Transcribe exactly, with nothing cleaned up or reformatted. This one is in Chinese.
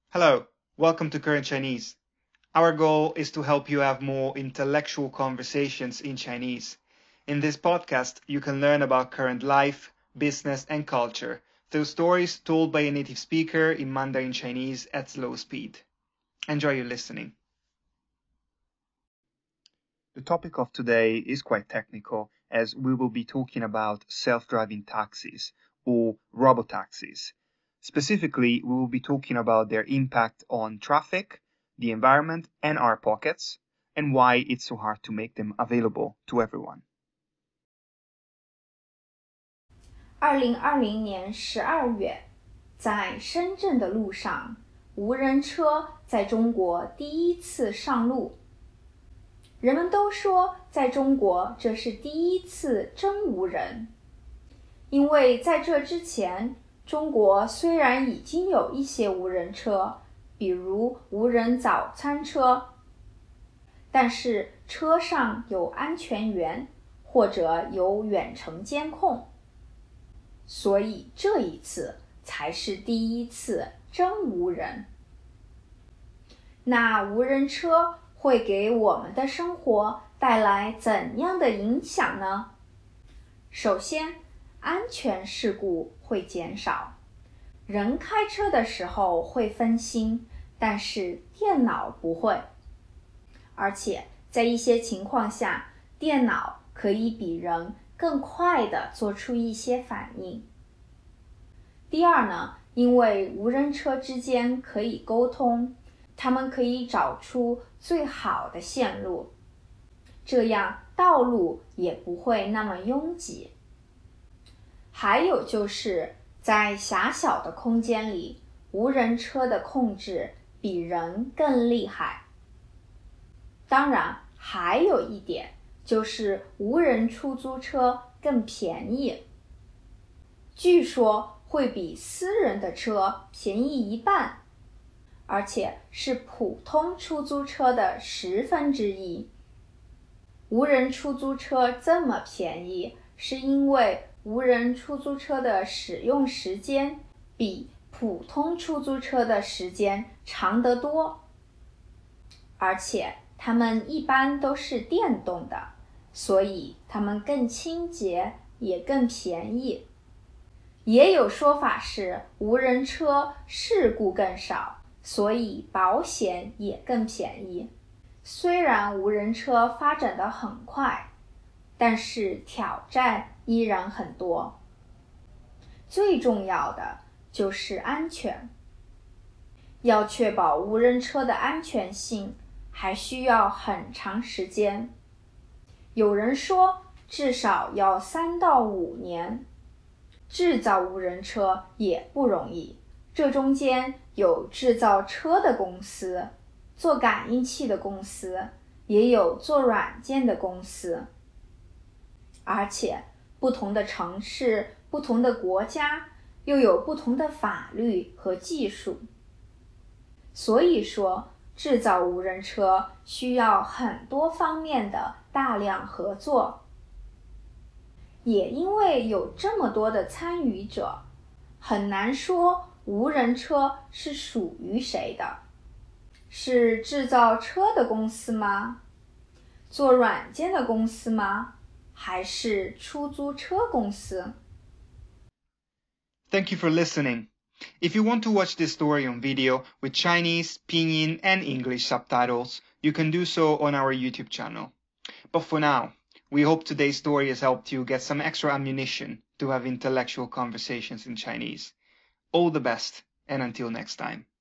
Hello, welcome to Current Chinese. Our goal is to help you have more intellectual conversations in Chinese. In this podcast, you can learn about current life, business, and culture through stories told by a native speaker in Mandarin Chinese at slow speed. Enjoy your listening. The topic of today is quite technical, as we will be talking about self-driving taxis or robotaxis. Specifically, we will be talking about their impact on traffic, the environment, and our pockets, and why it's so hard to make them available to everyone. 二零二零年十二月，在深圳的路上，无人车在中国第一次上路。人们都说，在中国这是第一次真无人，因为在这之前，中国虽然已经有一些无人车，比如无人早餐车，但是车上有安全员或者有远程监控，所以这一次才是第一次真无人。那无人车会给我们的生活带来怎样的影响呢？首先，安全事故会减少。人开车的时候会分心，但是电脑不会。而且在一些情况下，电脑可以比人更快地做出一些反应。第二呢，因为无人车之间可以沟通，他们可以找出最好的线路，这样道路也不会那么拥挤。还有就是在狭小的空间里，无人车的控制比人更厉害。当然，还有一点就是无人出租车更便宜，据说会比私人的车便宜一半，而且是普通出租车的十分之一。无人出租车这么便宜，是因为无人出租车的使用时间比普通出租车的时间长得多，而且它们一般都是电动的，所以它们更清洁，也更便宜。也有说法是无人车事故更少，所以保险也更便宜。虽然无人车发展得很快，但是挑战依然很多。最重要的就是安全。要确保无人车的安全性，还需要很长时间。有人说至少要三到五年。制造无人车也不容易，这中间有制造车的公司，做感应器的公司，也有做软件的公司。而且不同的城市、不同的国家又有不同的法律和技术。所以说，制造无人车需要很多方面的大量合作。也因为有这么多的参与者，很难说无人车是属于谁的。是制造车的公司吗？做软件的公司吗？还是出租车公司？ Thank you for listening. If you want to watch this story on video with Chinese, Pinyin, and English subtitles, you can do so on our YouTube channel. But for now, we hope today's story has helped you get some extra ammunition to have intellectual conversations in Chinese. All the best, and until next time.